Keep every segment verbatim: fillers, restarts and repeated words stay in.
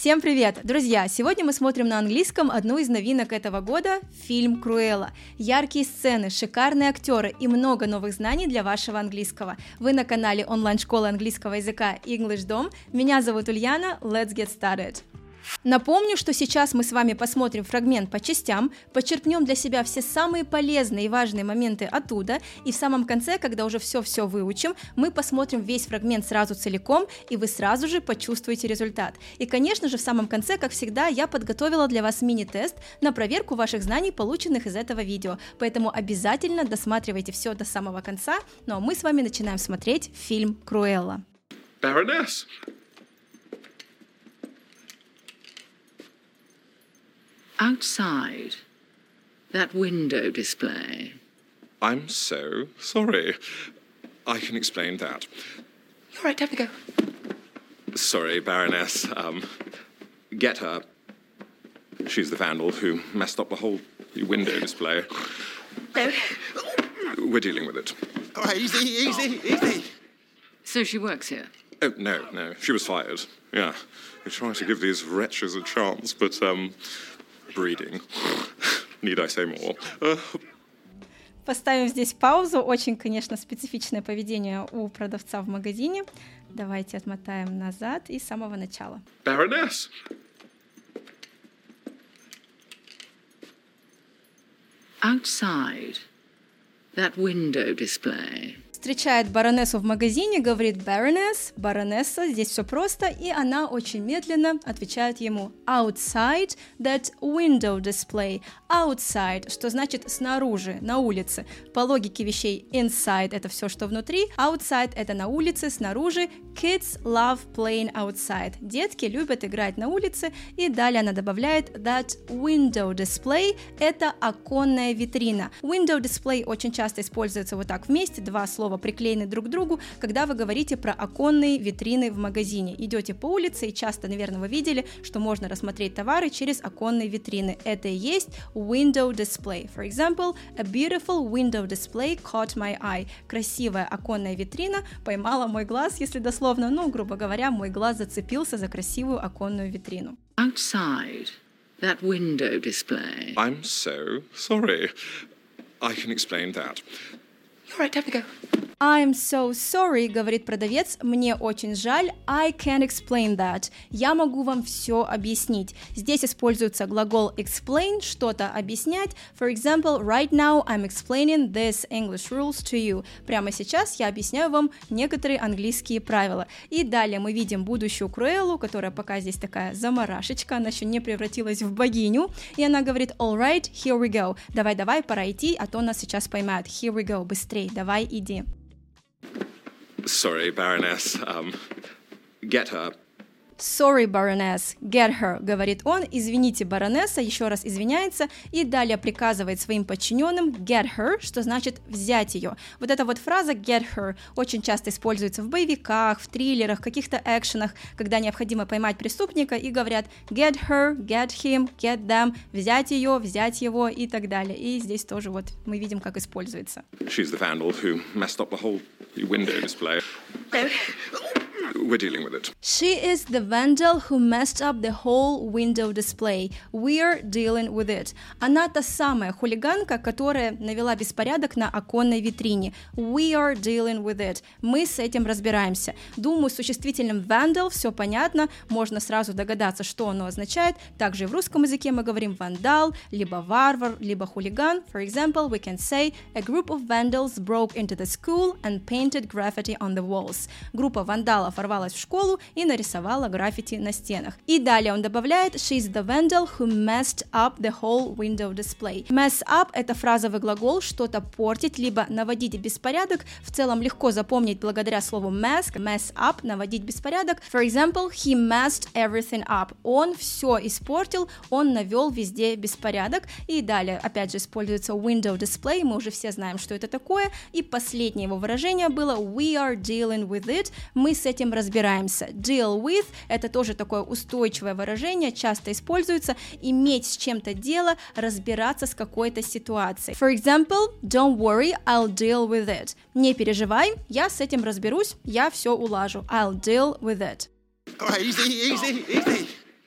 Всем привет! Друзья, сегодня мы смотрим на английском одну из новинок этого года – фильм «Круэлла». Яркие сцены, шикарные актеры и много новых знаний для вашего английского. Вы на канале онлайн-школы английского языка English Dom. Меня зовут Ульяна, let's get started! Напомню, что сейчас мы с вами посмотрим фрагмент по частям, подчеркнем для себя все самые полезные и важные моменты оттуда, и в самом конце, когда уже все-все выучим, мы посмотрим весь фрагмент сразу целиком, и вы сразу же почувствуете результат. И, конечно же, в самом конце, как всегда, я подготовила для вас мини-тест на проверку ваших знаний, полученных из этого видео, поэтому обязательно досматривайте все до самого конца, ну а мы с вами начинаем смотреть фильм «Круэлла». Baroness! Outside, that window display. I'm so sorry. I can explain that. All right, time to go. Sorry, Baroness. Um, get her. She's the vandal who messed up the whole window display. No. We're dealing with it. All right, easy, easy, easy. So she works here? Oh, no, no. She was fired. Yeah. We try to give these wretches a chance, but, um... breeding. Need I say more? Uh... Поставим здесь паузу. Очень, конечно, специфичное поведение у продавца в магазине. Давайте отмотаем назад и с самого начала. Baroness! Outside, that window display. Встречает баронессу в магазине, говорит Baroness, баронесса, здесь все просто, и она очень медленно отвечает ему outside that window display. Outside, что значит снаружи, на улице. По логике вещей inside это все, что внутри, outside это на улице, снаружи. Kids love playing outside. Детки любят играть на улице, и далее она добавляет that window display это оконная витрина. Window display очень часто используется вот так вместе, два слова приклеены друг к другу, когда вы говорите про оконные витрины в магазине. Идете по улице, и часто, наверное, вы видели, что можно рассмотреть товары через оконные витрины. Это и есть window display. For example, a beautiful window display caught my eye. Красивая оконная витрина поймала мой глаз, если дословно, ну, грубо говоря, мой глаз зацепился за красивую оконную витрину. Outside, that window display. I'm so sorry. I can explain that. All right, time to go. I'm so sorry, говорит продавец, мне очень жаль, I can explain that. Я могу вам все объяснить. Здесь используется глагол explain, что-то объяснять. For example, right now I'm explaining these English rules to you. Прямо сейчас я объясняю вам некоторые английские правила. И далее мы видим будущую Круэллу, которая пока здесь такая заморашечка, она еще не превратилась в богиню, и она говорит, all right, here we go. Давай-давай, пора идти, а то нас сейчас поймают. Here we go, быстрей, давай, иди. Sorry, Baroness. Um, get her. Sorry, Baroness, get her, говорит он, извините, баронесса, еще раз извиняется, и далее приказывает своим подчиненным get her, что значит взять ее. Вот эта вот фраза get her очень часто используется в боевиках, в триллерах, каких-то экшенах, когда необходимо поймать преступника и говорят get her, get him, get them, взять ее, взять его и так далее. И здесь тоже вот мы видим, как используется. She's the vandal who messed up the whole window display. We're dealing with it. She is the vandal who messed up the whole window display. We're dealing with it. Она та самая хулиганка, которая навела беспорядок на оконной витрине. We are dealing with it. Мы с этим разбираемся. Думаю, с существительным vandal все понятно, можно сразу догадаться, что оно означает. Также и в русском языке мы говорим вандал, либо варвар, либо хулиган. For example, we can say a group of vandals broke into the school and painted graffiti on the walls. Группа вандалов ворвалась в школу и нарисовала граффити на стенах. И далее он добавляет she's the vandal who messed up the whole window display. Mess up – это фразовый глагол, что-то портить, либо наводить беспорядок. В целом легко запомнить благодаря слову mess, mess up, наводить беспорядок. For example, he messed everything up. Он все испортил, он навел везде беспорядок. И далее опять же используется window display, мы уже все знаем, что это такое. И последнее его выражение было we are dealing with it. Мы с этим разбираемся. Deal with – это тоже такое устойчивое выражение, часто используется, иметь с чем-то дело, разбираться с какой-то ситуацией. For example, don't worry, I'll deal with it. Не переживай, я с этим разберусь, я все улажу. I'll deal with it. All right, easy, easy, easy.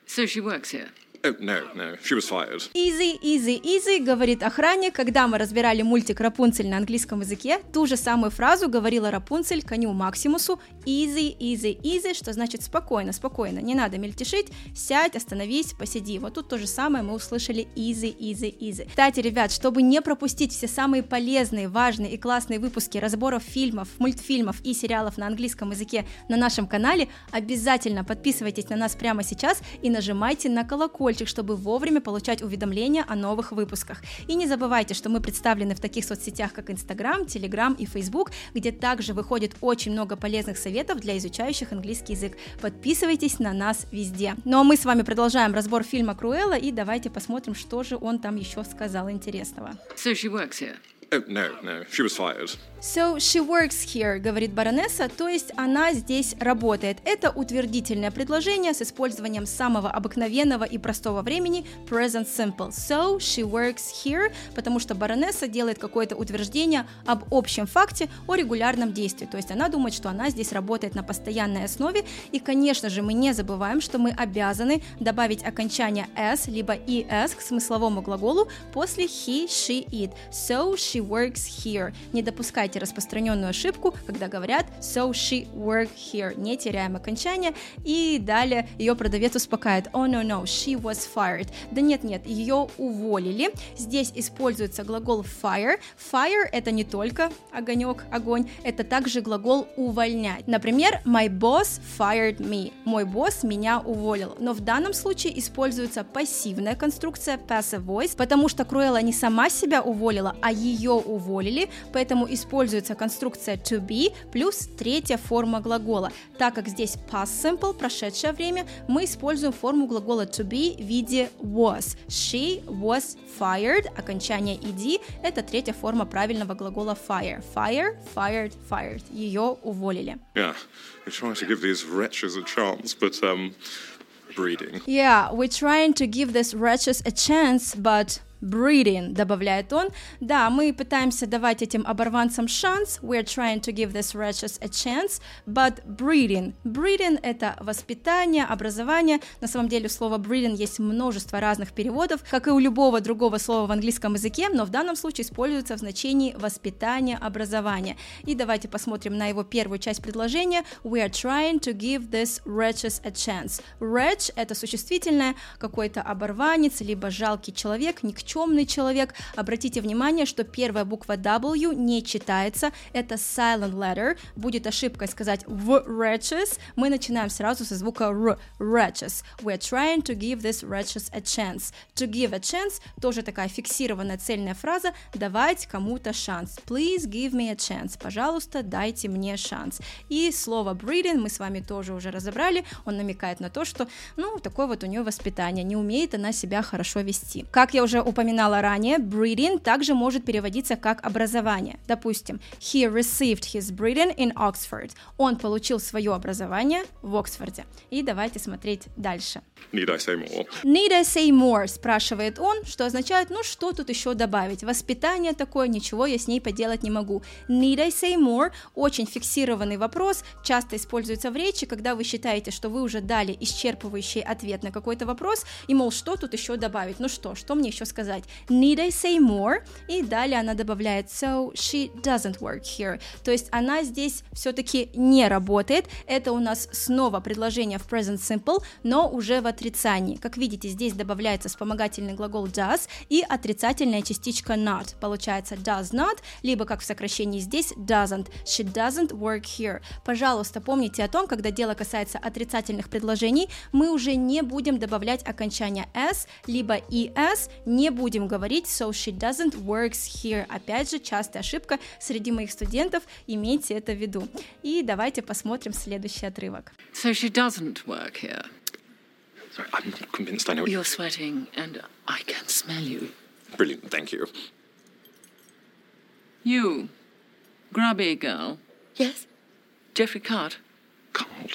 So she works here. Oh, no, no, she was fired. Easy, easy, easy, говорит охранник. Когда мы разбирали мультик «Рапунцель» на английском языке, ту же самую фразу говорила Рапунцель коню Максимусу. Easy, easy, easy, что значит спокойно, спокойно, не надо мельтешить, сядь, остановись, посиди. Вот тут то же самое мы услышали easy, easy, easy. Кстати, ребят, чтобы не пропустить все самые полезные, важные и классные выпуски разборов фильмов, мультфильмов и сериалов на английском языке на нашем канале, обязательно подписывайтесь на нас прямо сейчас и нажимайте на колокольчик, чтобы вовремя получать уведомления о новых выпусках. И не забывайте, что мы представлены в таких соцсетях, как Instagram, Telegram и Facebook, где также выходит очень много полезных советов для изучающих английский язык. Подписывайтесь на нас везде. Ну а мы с вами продолжаем разбор фильма «Круэлла», и давайте посмотрим, что же он там еще сказал интересного. So she works here. Oh, no, no, she was fired. So she works here, говорит баронесса, то есть она здесь работает. Это утвердительное предложение с использованием самого обыкновенного и простого времени present simple. So she works here, потому что баронесса делает какое-то утверждение об общем факте, о регулярном действии. То есть она думает, что она здесь работает на постоянной основе. И, конечно же, мы не забываем, что мы обязаны добавить окончание s либо es к смысловому глаголу после he, she, it. So she works here. Не допускайте распространенную ошибку, когда говорят so she worked here. Не теряем окончание. И далее ее продавец успокаивает. Oh no no, she was fired. Да нет нет, ее уволили. Здесь используется глагол fire. Fire это не только огонек, огонь, это также глагол увольнять. Например, my boss fired me. Мой босс меня уволил. Но в данном случае используется пассивная конструкция passive voice, потому что Круэлла не сама себя уволила, а ее уволили, поэтому используется конструкция to be плюс третья форма глагола. Так как здесь past simple, прошедшее время, мы используем форму глагола to be в виде was. She was fired, окончание ed, это третья форма правильного глагола fire. Fire, fired, fired. Ее уволили. Yeah, we're trying to give these wretches a chance, but, um, breeding. Yeah, we're trying to give these wretches a chance, but... breeding, добавляет он. Да, мы пытаемся давать этим оборванцам шанс. We're trying to give these wretches a chance, but breeding. Breeding — это воспитание, образование. На самом деле у слова breeding есть множество разных переводов, как и у любого другого слова в английском языке, но в данном случае используется в значении воспитание, образование. И давайте посмотрим на его первую часть предложения. We are trying to give these wretches a chance. Wretch — это существительное, какой-то оборванец, либо жалкий человек, никчемный Никчемный человек. Обратите внимание, что первая буква W не читается, это silent letter. Будет ошибкой сказать в wretches. Мы начинаем сразу со звука R. Wretches. We're trying to give these wretches a chance. To give a chance тоже такая фиксированная цельная фраза. Давать кому-то шанс. Please give me a chance. Пожалуйста, дайте мне шанс. И слово breeding мы с вами тоже уже разобрали. Он намекает на то, что, ну, такое вот у нее воспитание. Не умеет она себя хорошо вести. Как я уже упоминала, упоминала ранее, breeding также может переводиться как образование. Допустим, he received his breeding in Oxford. Он получил свое образование в Оксфорде. И давайте смотреть дальше. Need I say more? Need I say more? Спрашивает он, что означает, ну что тут еще добавить? Воспитание такое, ничего я с ней поделать не могу. Need I say more? Очень фиксированный вопрос, часто используется в речи, когда вы считаете, что вы уже дали исчерпывающий ответ на какой-то вопрос, и, мол, что тут еще добавить? Ну что, что мне еще сказать? Need I say more? И далее она добавляет so she doesn't work here. То есть она здесь все-таки не работает. Это у нас снова предложение в present simple, но уже в отрицании. Как видите, здесь добавляется вспомогательный глагол does и отрицательная частичка not. Получается does not, либо как в сокращении здесь doesn't. She doesn't work here. Пожалуйста, помните о том, когда дело касается отрицательных предложений, мы уже не будем добавлять окончание s, либо es, не будем говорить so she doesn't works here. Опять же, частая ошибка среди моих студентов, имейте это в виду. И давайте посмотрим следующий отрывок. So she doesn't work here. Sorry, I'm not convinced I know what You're sweating and I can smell you. Brilliant, thank you. You, grubby girl. Yes? Jeffrey Card. Cold.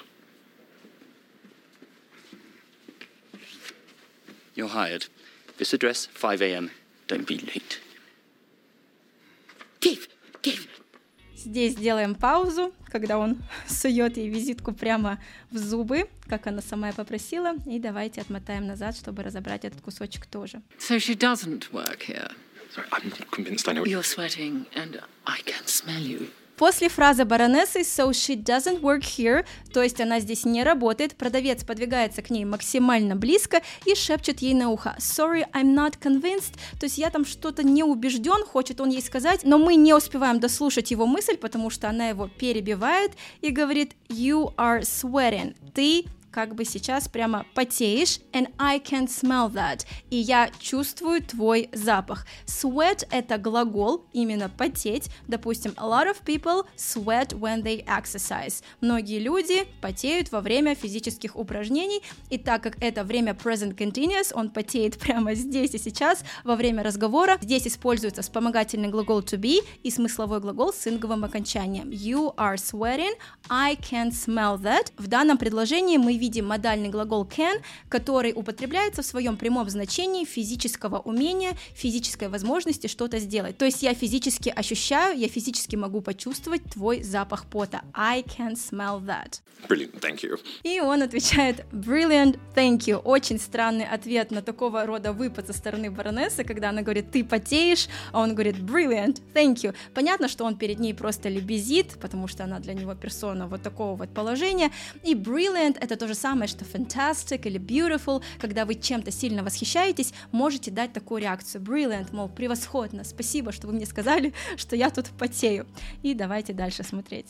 You're hired. This address, five a.m. Don't be late. Dave, Dave. Здесь делаем паузу, когда он сует ей визитку прямо в зубы, как она сама и попросила, и давайте отмотаем назад, чтобы разобрать этот кусочек тоже. So she doesn't work here. Sorry, I'm not convinced I know. You're sweating and I can smell you. После фразы баронессы «so she doesn't work here», то есть она здесь не работает, продавец подвигается к ней максимально близко и шепчет ей на ухо «sorry, I'm not convinced», то есть я там что-то не убежден, хочет он ей сказать, но мы не успеваем дослушать его мысль, потому что она его перебивает и говорит «you are sweating», ты как бы сейчас прямо потеешь, and I can smell that, и я чувствую твой запах. Sweat — это глагол, именно потеть, допустим, a lot of people sweat when they exercise. Многие люди потеют во время физических упражнений, и так как это время present continuous, он потеет прямо здесь и сейчас, во время разговора. Здесь используется вспомогательный глагол to be и смысловой глагол с инговым окончанием. You are sweating, I can smell that. В данном предложении мы видим видим модальный глагол can, который употребляется в своем прямом значении физического умения, физической возможности что-то сделать. То есть я физически ощущаю, я физически могу почувствовать твой запах пота. I can smell that. Brilliant, thank you. И он отвечает brilliant, thank you. Очень странный ответ на такого рода выпад со стороны баронессы, когда она говорит ты потеешь, а он говорит brilliant, thank you. Понятно, что он перед ней просто лебезит, потому что она для него персона вот такого вот положения. И brilliant — это то же самое, что fantastic или beautiful. Когда вы чем-то сильно восхищаетесь, можете дать такую реакцию. Brilliant, мол, превосходно, спасибо, что вы мне сказали, что я тут потею. И давайте дальше смотреть.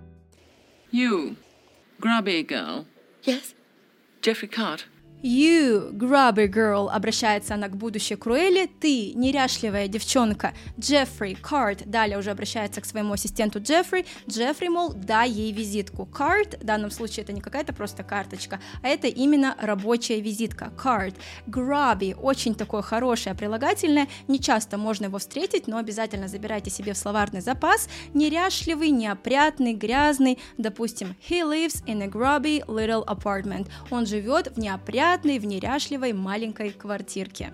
You, grubby girl. Yes? Jeffrey Cart. You, grubby girl, обращается она к будущей Круэлли, ты, неряшливая девчонка. Джеффри, Карт, далее уже обращается к своему ассистенту Джеффри. Джеффри, мол, дай ей визитку. Карт, в данном случае это не какая-то просто карточка, а это именно рабочая визитка. Карт. Grubby, очень такое хорошее прилагательное, не часто можно его встретить, но обязательно забирайте себе в словарный запас. Неряшливый, неопрятный, грязный. Допустим, he lives in a grubby little apartment. Он живет в неопрятном в неряшливой маленькой квартирке.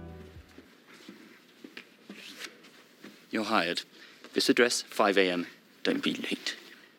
You're hired. This address, five a.m. Don't be late.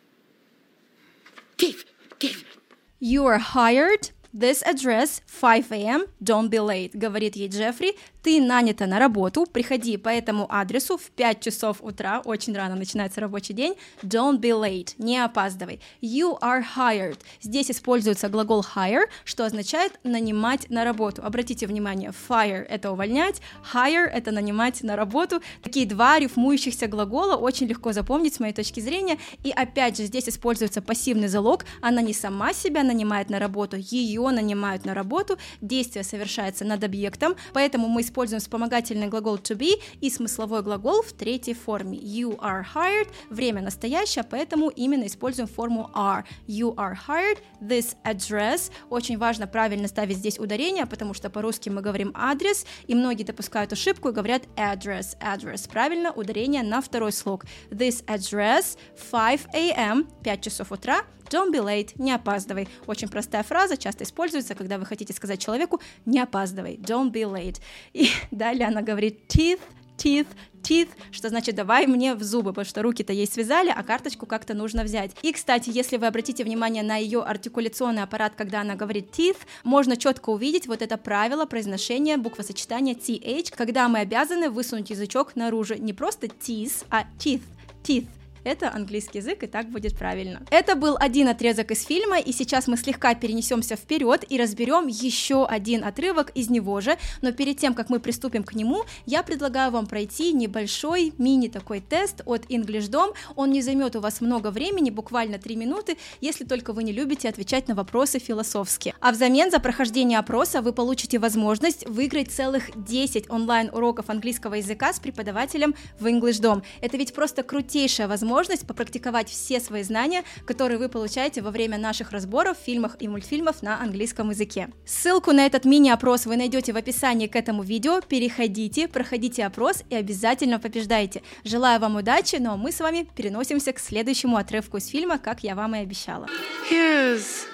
Keith, Keith. You are hired. This address, five a.m. Don't be late, говорит ей Джеффри. Ты нанята на работу, приходи по этому адресу в пять часов утра, очень рано начинается рабочий день, don't be late, не опаздывай. You are hired. Здесь используется глагол hire, что означает нанимать на работу. Обратите внимание, fire — это увольнять, hire — это нанимать на работу. Такие два рифмующихся глагола очень легко запомнить с моей точки зрения. И опять же, здесь используется пассивный залог, она не сама себя нанимает на работу, ее нанимают на работу, действие совершается над объектом, поэтому мы используем вспомогательный глагол to be и смысловой глагол в третьей форме. You are hired, время настоящее, поэтому именно используем форму are. You are hired, this address. Очень важно правильно ставить здесь ударение, потому что по-русски мы говорим адрес, и многие допускают ошибку и говорят address, address. Правильно, ударение на второй слог. This address, five a.m., пять часов утра. Don't be late, не опаздывай. Очень простая фраза, часто используется, когда вы хотите сказать человеку не опаздывай. Don't be late. И далее она говорит teeth, teeth, teeth, что значит давай мне в зубы, потому что руки-то ей связали, а карточку как-то нужно взять. И, кстати, если вы обратите внимание на ее артикуляционный аппарат, когда она говорит teeth, можно четко увидеть вот это правило произношения буквосочетания th, когда мы обязаны высунуть язычок наружу. Не просто teeth, а teeth, teeth. Это английский язык, и так будет правильно. Это был один отрезок из фильма, и сейчас мы слегка перенесемся вперед и разберем еще один отрывок из него же, но перед тем, как мы приступим к нему, я предлагаю вам пройти небольшой мини такой тест от EnglishDom. Он не займет у вас много времени, буквально три минуты, если только вы не любите отвечать на вопросы философски. А взамен за прохождение опроса вы получите возможность выиграть целых десять онлайн-уроков английского языка с преподавателем в EnglishDom. Это ведь просто крутейшая возможность попрактиковать все свои знания, которые вы получаете во время наших разборов, фильмов и мультфильмов на английском языке. Ссылку на этот мини-опрос вы найдете в описании к этому видео. Переходите, проходите опрос и обязательно побеждайте. Желаю вам удачи, ну а мы с вами переносимся к следующему отрывку из фильма, как я вам и обещала. Here's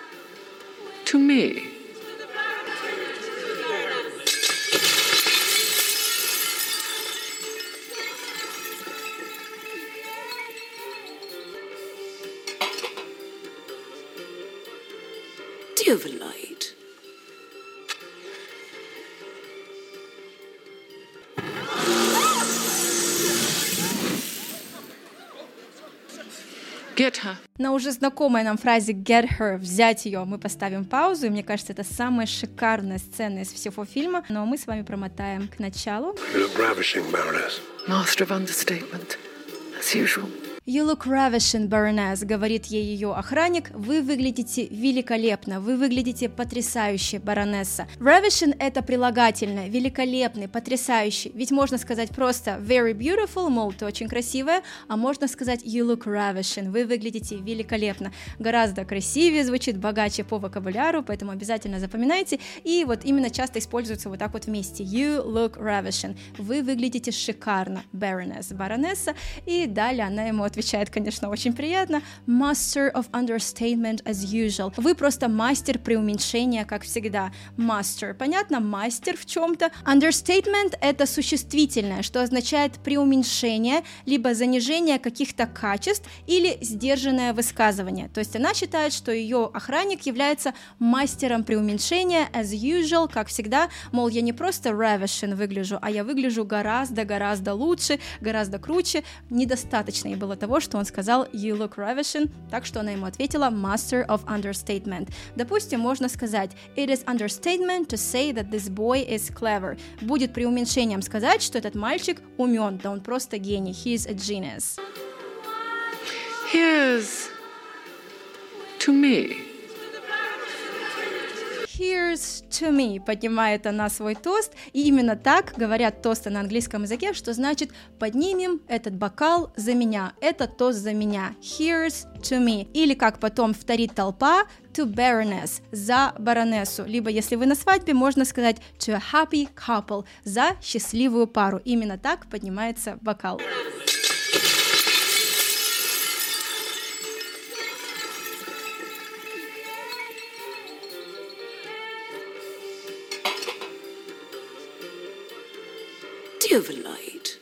to me. overnight. Get her. На уже знакомой нам фразе get her, взять ее, мы поставим паузу, и мне кажется, это самая шикарная сцена из всего фильма, но мы с вами промотаем к началу. You look ravishing, Baroness. Master of understatement, as usual. You look ravishing, Baroness, говорит ей ее охранник, вы выглядите великолепно, вы выглядите потрясающе, баронесса. Ravishing — это прилагательное, великолепный, потрясающий, ведь можно сказать просто very beautiful, мол, ты очень красивая, а можно сказать you look ravishing, вы выглядите великолепно, гораздо красивее звучит, богаче по вокабуляру, поэтому обязательно запоминайте, и вот именно часто используется вот так вот вместе, you look ravishing, вы выглядите шикарно, Baroness, баронесса, и далее она ему отвечает, конечно, очень приятно. Master of understatement as usual. Вы просто мастер преуменьшения, как всегда. Master. Понятно? Мастер в чем-то. Understatement — это существительное, что означает преуменьшение, либо занижение каких-то качеств или сдержанное высказывание. То есть она считает, что ее охранник является мастером преуменьшения as usual, как всегда. Мол, я не просто ravishing выгляжу, а я выгляжу гораздо-гораздо лучше, гораздо круче. Недостаточно ей было того, что он сказал you look ravishing, так что она ему ответила master of understatement. Допустим, можно сказать it is understatement to say that this boy is clever. Будет преуменьшением сказать, что этот мальчик умен, да он просто гений, he is a genius. Here's to me. Here's to me, поднимает она свой тост, и именно так говорят тосты на английском языке, что значит поднимем этот бокал за меня, этот тост за меня, here's to me, или как потом вторит толпа, to Baroness, за баронессу, либо если вы на свадьбе, можно сказать to a happy couple, за счастливую пару, именно так поднимается бокал. Overnight.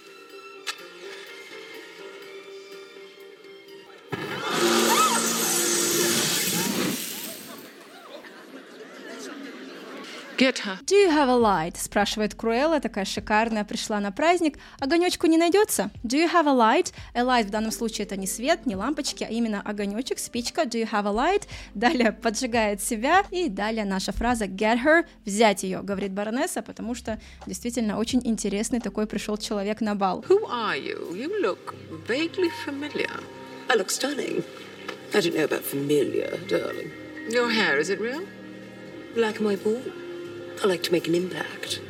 Get her. Do you have a light? Спрашивает Круэлла, такая шикарная, пришла на праздник. Огонечку не найдется? Do you have a light? A light в данном случае это не свет, не лампочки, а именно огонечек, спичка. Do you have a light? Далее поджигает себя, и далее наша фраза get her, взять ее, говорит баронесса, потому что действительно очень интересный такой пришел человек на бал. Who are you? You look vaguely familiar. I look stunning. I don't know about familiar, darling. Your hair, is it real? Like my ball. I like to make an impact.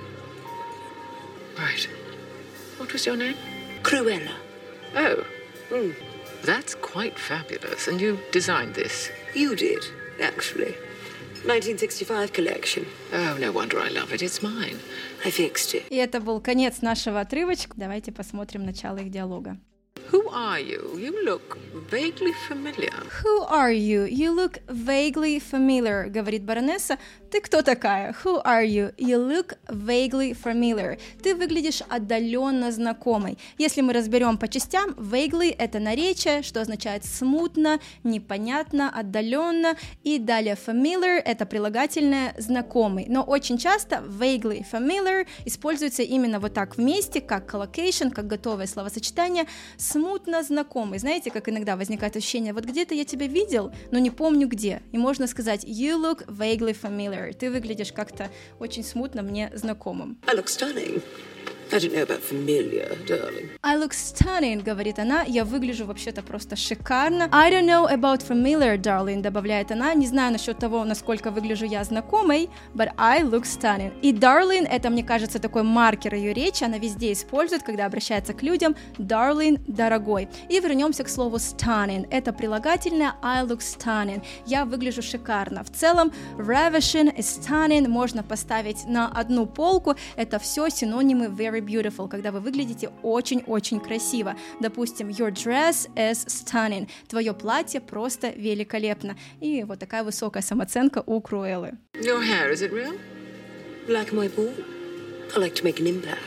Right. What was your name? Cruella. Oh, Mm. that's quite fabulous. And you designed this? You did, actually. nineteen sixty-five collection. Oh, no wonder I love it. It's mine. I fixed it. И это был конец нашего отрывочка. Давайте посмотрим начало их диалога. Who are you? You look vaguely familiar. Who are you? You look vaguely familiar, говорит баронесса. Ты кто такая? Who are you? You look vaguely familiar. Ты выглядишь отдаленно знакомой. Если мы разберем по частям, vaguely — это наречие, что означает смутно, непонятно, отдаленно. И далее familiar — это прилагательное знакомый. Но очень часто vaguely familiar используется именно вот так вместе, как collocation, как готовое словосочетание. Смутно знакомый. Знаете, как иногда возникает ощущение, вот где-то я тебя видел, но не помню где. И можно сказать you look vaguely familiar. Ты выглядишь как-то очень смутно мне знакомым. I look stunning. I don't know about familiar, darling. I look stunning, говорит она, я выгляжу вообще-то просто шикарно. I don't know about familiar, darling, добавляет она, не знаю насчет того, насколько выгляжу я знакомой, but I look stunning. И darling, это, мне кажется, такой маркер ее речи, она везде использует, когда обращается к людям, darling, дорогой. И вернемся к слову stunning, это прилагательное I look stunning, я выгляжу шикарно. В целом, ravishing и stunning можно поставить на одну полку, это все синонимы very beautiful, когда вы выглядите очень-очень красиво. Допустим, your dress is stunning. Твое платье просто великолепно. И вот такая высокая самооценка у Круэллы. Your hair, is it real? Like my ball. I like to make an impact.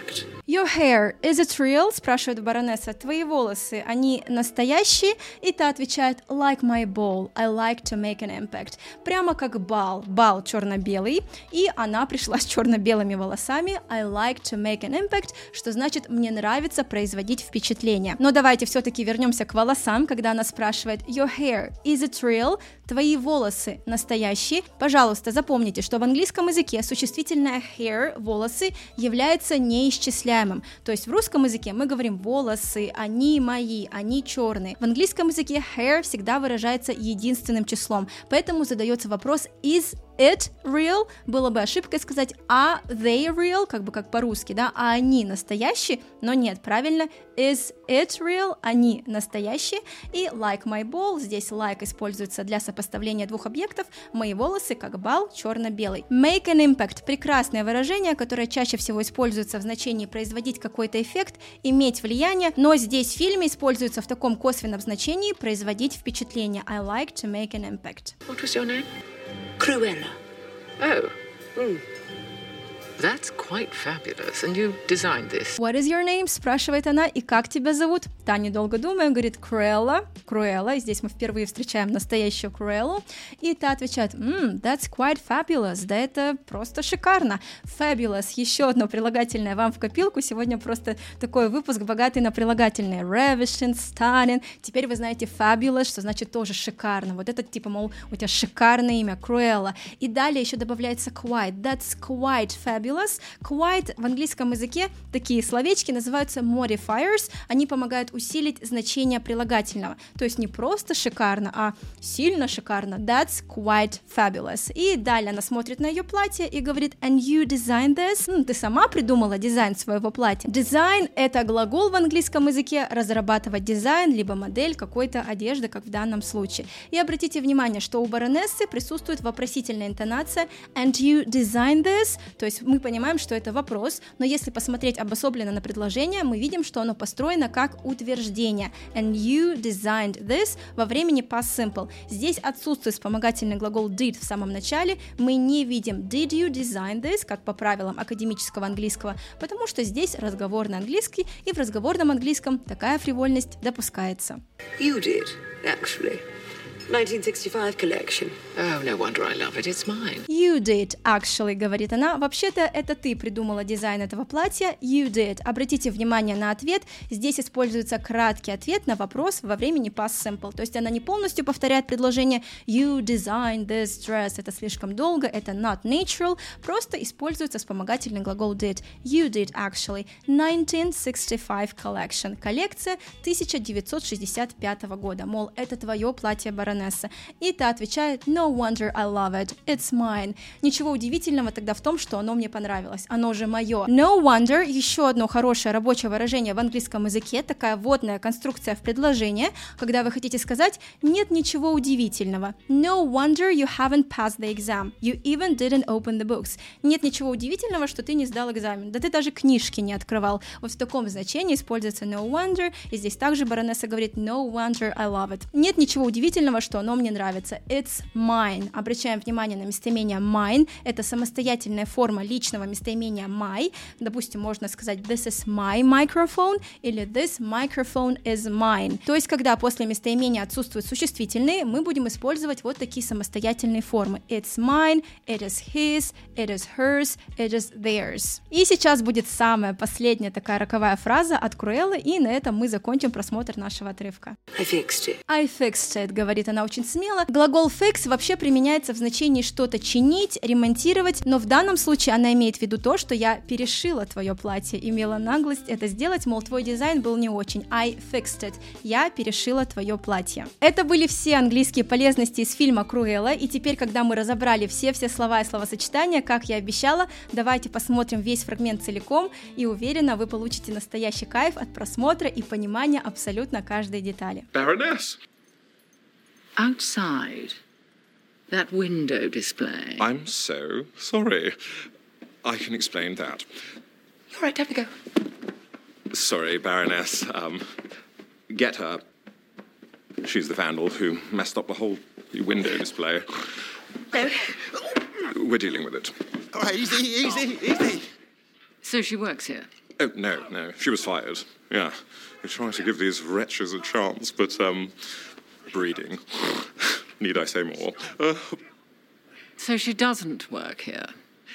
Your hair, is it real? Спрашивает баронесса. Твои волосы, они настоящие? И та отвечает, like my ball, I like to make an impact. Прямо как бал. Бал черно-белый. И она пришла с черно-белыми волосами. I like to make an impact, что значит, мне нравится производить впечатление. Но давайте все-таки вернемся к волосам, когда она спрашивает, your hair, is it real? Твои волосы настоящие? Пожалуйста, запомните, что в английском языке существительное hair, волосы, является неисчисляемым. То есть в русском языке мы говорим волосы, они мои, они черные. В английском языке hair всегда выражается единственным числом. Поэтому задается вопрос is it real? Было бы ошибкой сказать are they real, как бы как по-русски, да, а они настоящие, но нет, правильно, is it real? Они настоящие. И like my ball, здесь like используется для сопоставления двух объектов, мои волосы как бал черно-белый. Make an impact, прекрасное выражение, которое чаще всего используется в значении производить какой-то эффект, иметь влияние, но здесь в фильме используется в таком косвенном значении производить впечатление. I like to make an impact. What was your name? Cruella. Oh. Mm. That's quite fabulous. And you designed this? What is your name? Спрашивает она. И как тебя зовут? Та, недолго думая, говорит Cruella. Cruella. И здесь мы впервые встречаем настоящую Cruella. И та отвечает, mm, that's quite fabulous. Да это просто шикарно. Fabulous. Еще одно прилагательное вам в копилку. Сегодня просто такой выпуск богатый на прилагательные. Ravishing, stunning. Теперь вы знаете fabulous, что значит тоже шикарно. Вот это типа, мол, у тебя шикарное имя Cruella. И далее еще добавляется quite. That's quite fabulous. Quite в английском языке такие словечки называются modifiers, они помогают усилить значение прилагательного, то есть не просто шикарно, а сильно шикарно. That's quite fabulous. И далее она смотрит на ее платье и говорит, and you designed this? Ну, ты сама придумала дизайн своего платья. Design — это глагол в английском языке, разрабатывать дизайн, либо модель какой-то одежды, как в данном случае. И обратите внимание, что у баронессы присутствует вопросительная интонация and you designed this, то есть мы понимаем, что это вопрос, но если посмотреть обособленно на предложение, мы видим, что оно построено как утверждение. And you designed this во времени past simple. Здесь отсутствует вспомогательный глагол did в самом начале, мы не видим did you design this, как по правилам академического английского, потому что здесь разговорный английский, и в разговорном английском такая фривольность допускается. You did, actually. nineteen sixty-five collection. Oh, no wonder I love it. It's mine. You did, actually, говорит она. Вообще-то это ты придумала дизайн этого платья. You did. Обратите внимание на ответ. Здесь используется краткий ответ на вопрос во времени past simple. То есть она не полностью повторяет предложение You designed this dress. Это слишком долго, это not natural. Просто используется вспомогательный глагол did. You did, actually. nineteen sixty-five collection. Коллекция тысяча девятьсот шестьдесят пятого года. Мол, это твое платье, баронесса. И та отвечает No wonder I love it, it's mine. Ничего удивительного тогда в том, что оно мне понравилось, оно же мое. No wonder — еще одно хорошее рабочее выражение в английском языке, такая вводная конструкция в предложение, когда вы хотите сказать нет ничего удивительного. No wonder you haven't passed the exam, you even didn't open the books. Нет ничего удивительного, что ты не сдал экзамен, да ты даже книжки не открывал. Вот в таком значении используется no wonder, и здесь также баронесса говорит No wonder I love it. Нет ничего удивительного, что оно мне нравится. It's mine. Обращаем внимание на местоимение mine. Это самостоятельная форма личного местоимения my. Допустим, можно сказать this is my microphone или this microphone is mine. То есть, когда после местоимения отсутствуют существительные, мы будем использовать вот такие самостоятельные формы. It's mine, it is his, it is hers, it is theirs. И сейчас будет самая последняя такая роковая фраза от Cruella, и на этом мы закончим просмотр нашего отрывка. I fixed it. I fixed it, говорит она очень смело. Глагол fix вообще применяется в значении что-то чинить, ремонтировать, но в данном случае она имеет в виду то, что я перешила твое платье, имела наглость это сделать, мол, твой дизайн был не очень. I fixed it. Я перешила твое платье. Это были все английские полезности из фильма Cruella, и теперь, когда мы разобрали все-все слова и словосочетания, как я обещала, давайте посмотрим весь фрагмент целиком, и уверена, вы получите настоящий кайф от просмотра и понимания абсолютно каждой детали. Baroness! Outside, that window display. I'm so sorry. I can explain that. All right, have a go. Sorry, Baroness. Um, get her. She's the vandal who messed up the whole window display. No. We're dealing with it. All right, easy, easy, easy. So she works here? Oh, no, no, she was fired. Yeah, we're trying to give these wretches a chance, but, um, breeding. Need I say more? Uh, So she doesn't work here.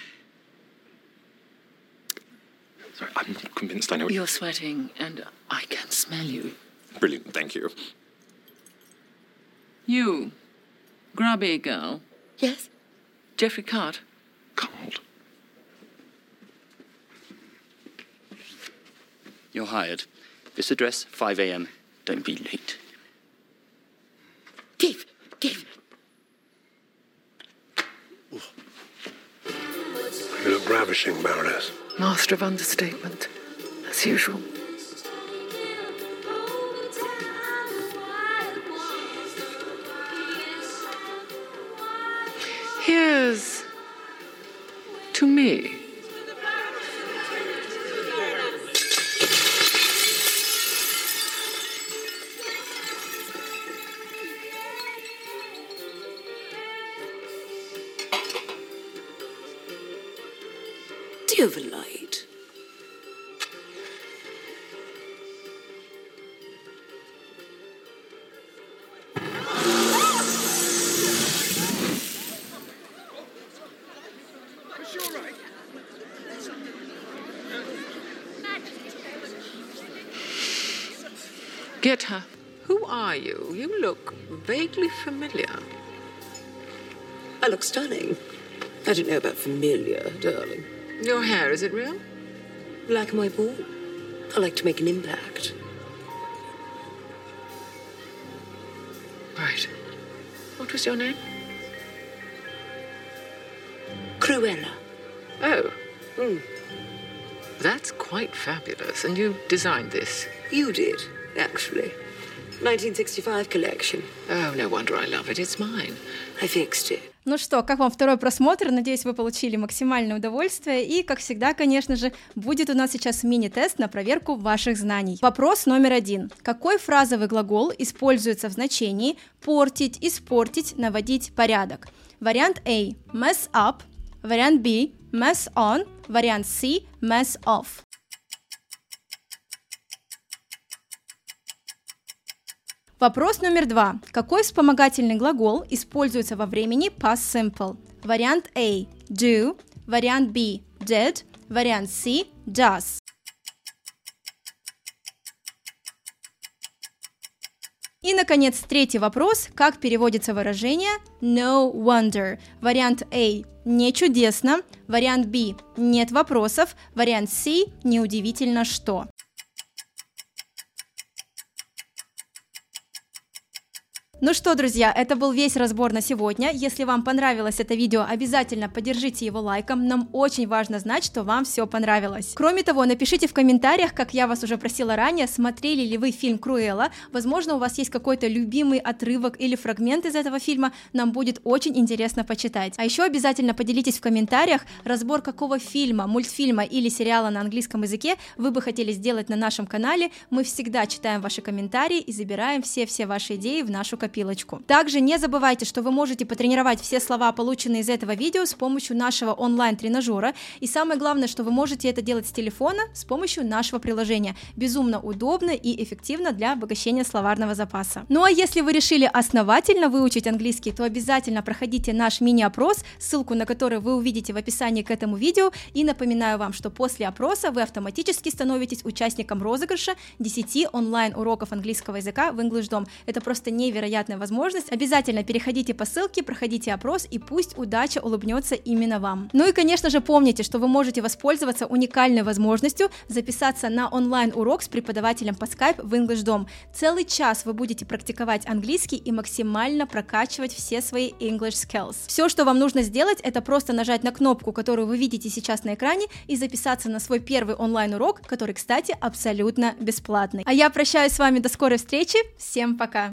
sorry, I'm not convinced I know what You're sweating, and I can smell you. Brilliant, thank you. You, grubby girl. Yes? Jeffrey Cart. Cold. You're hired. This address, five a.m. Don't be late. Dave, Dave. You look ravishing, Baroness. Master of understatement, as usual. Here's to me. Do you have a light? Get her. Who are you? You look vaguely familiar. I look stunning. I don't know about familiar, darling. Your hair, is it real? Like my ball. I like to make an impact. Right. What was your name? Cruella. Oh, Mm. that's quite fabulous. And you designed this? You did, actually. nineteen sixty-five collection. Oh, no wonder I love it. It's mine. I fixed it. Ну что, как вам второй просмотр? Надеюсь, вы получили максимальное удовольствие. И, как всегда, конечно же, будет у нас сейчас мини-тест на проверку ваших знаний. Вопрос номер один. Какой фразовый глагол используется в значении портить, испортить, наводить порядок? Вариант А – mess up, вариант Б – mess on, вариант С – mess off. Вопрос номер два. Какой вспомогательный глагол используется во времени past simple? Вариант А – do, вариант Б – did, вариант С – does. И, наконец, третий вопрос. Как переводится выражение no wonder? Вариант А – не чудесно, вариант Б – нет вопросов, вариант С – неудивительно что. Ну что, друзья, это был весь разбор на сегодня. Если вам понравилось это видео, обязательно поддержите его лайком. Нам очень важно знать, что вам все понравилось. Кроме того, напишите в комментариях, как я вас уже просила ранее, смотрели ли вы фильм «Круэлла». Возможно, у вас есть какой-то любимый отрывок или фрагмент из этого фильма. Нам будет очень интересно почитать. А еще обязательно поделитесь в комментариях, разбор какого фильма, мультфильма или сериала на английском языке вы бы хотели сделать на нашем канале. Мы всегда читаем ваши комментарии и забираем все-все ваши идеи в нашу копилочку. Также не забывайте, что вы можете потренировать все слова, полученные из этого видео, с помощью нашего онлайн-тренажера. И самое главное, что вы можете это делать с телефона с помощью нашего приложения. Безумно удобно и эффективно для обогащения словарного запаса. Ну а если вы решили основательно выучить английский, то обязательно проходите наш мини-опрос, ссылку на который вы увидите в описании к этому видео. И напоминаю вам, что после опроса вы автоматически становитесь участником розыгрыша десяти онлайн-уроков английского языка в EnglishDom. Это просто невероятно возможность. Обязательно переходите по ссылке, проходите опрос, и пусть удача улыбнется именно вам. Ну и, конечно же, помните, что вы можете воспользоваться уникальной возможностью записаться на онлайн-урок с преподавателем по Skype в EnglishDom. Целый час вы будете практиковать английский и максимально прокачивать все свои English skills. Все, что вам нужно сделать, это просто нажать на кнопку, которую вы видите сейчас на экране, и записаться на свой первый онлайн-урок, который, кстати, абсолютно бесплатный. А я прощаюсь с вами до скорой встречи. Всем пока!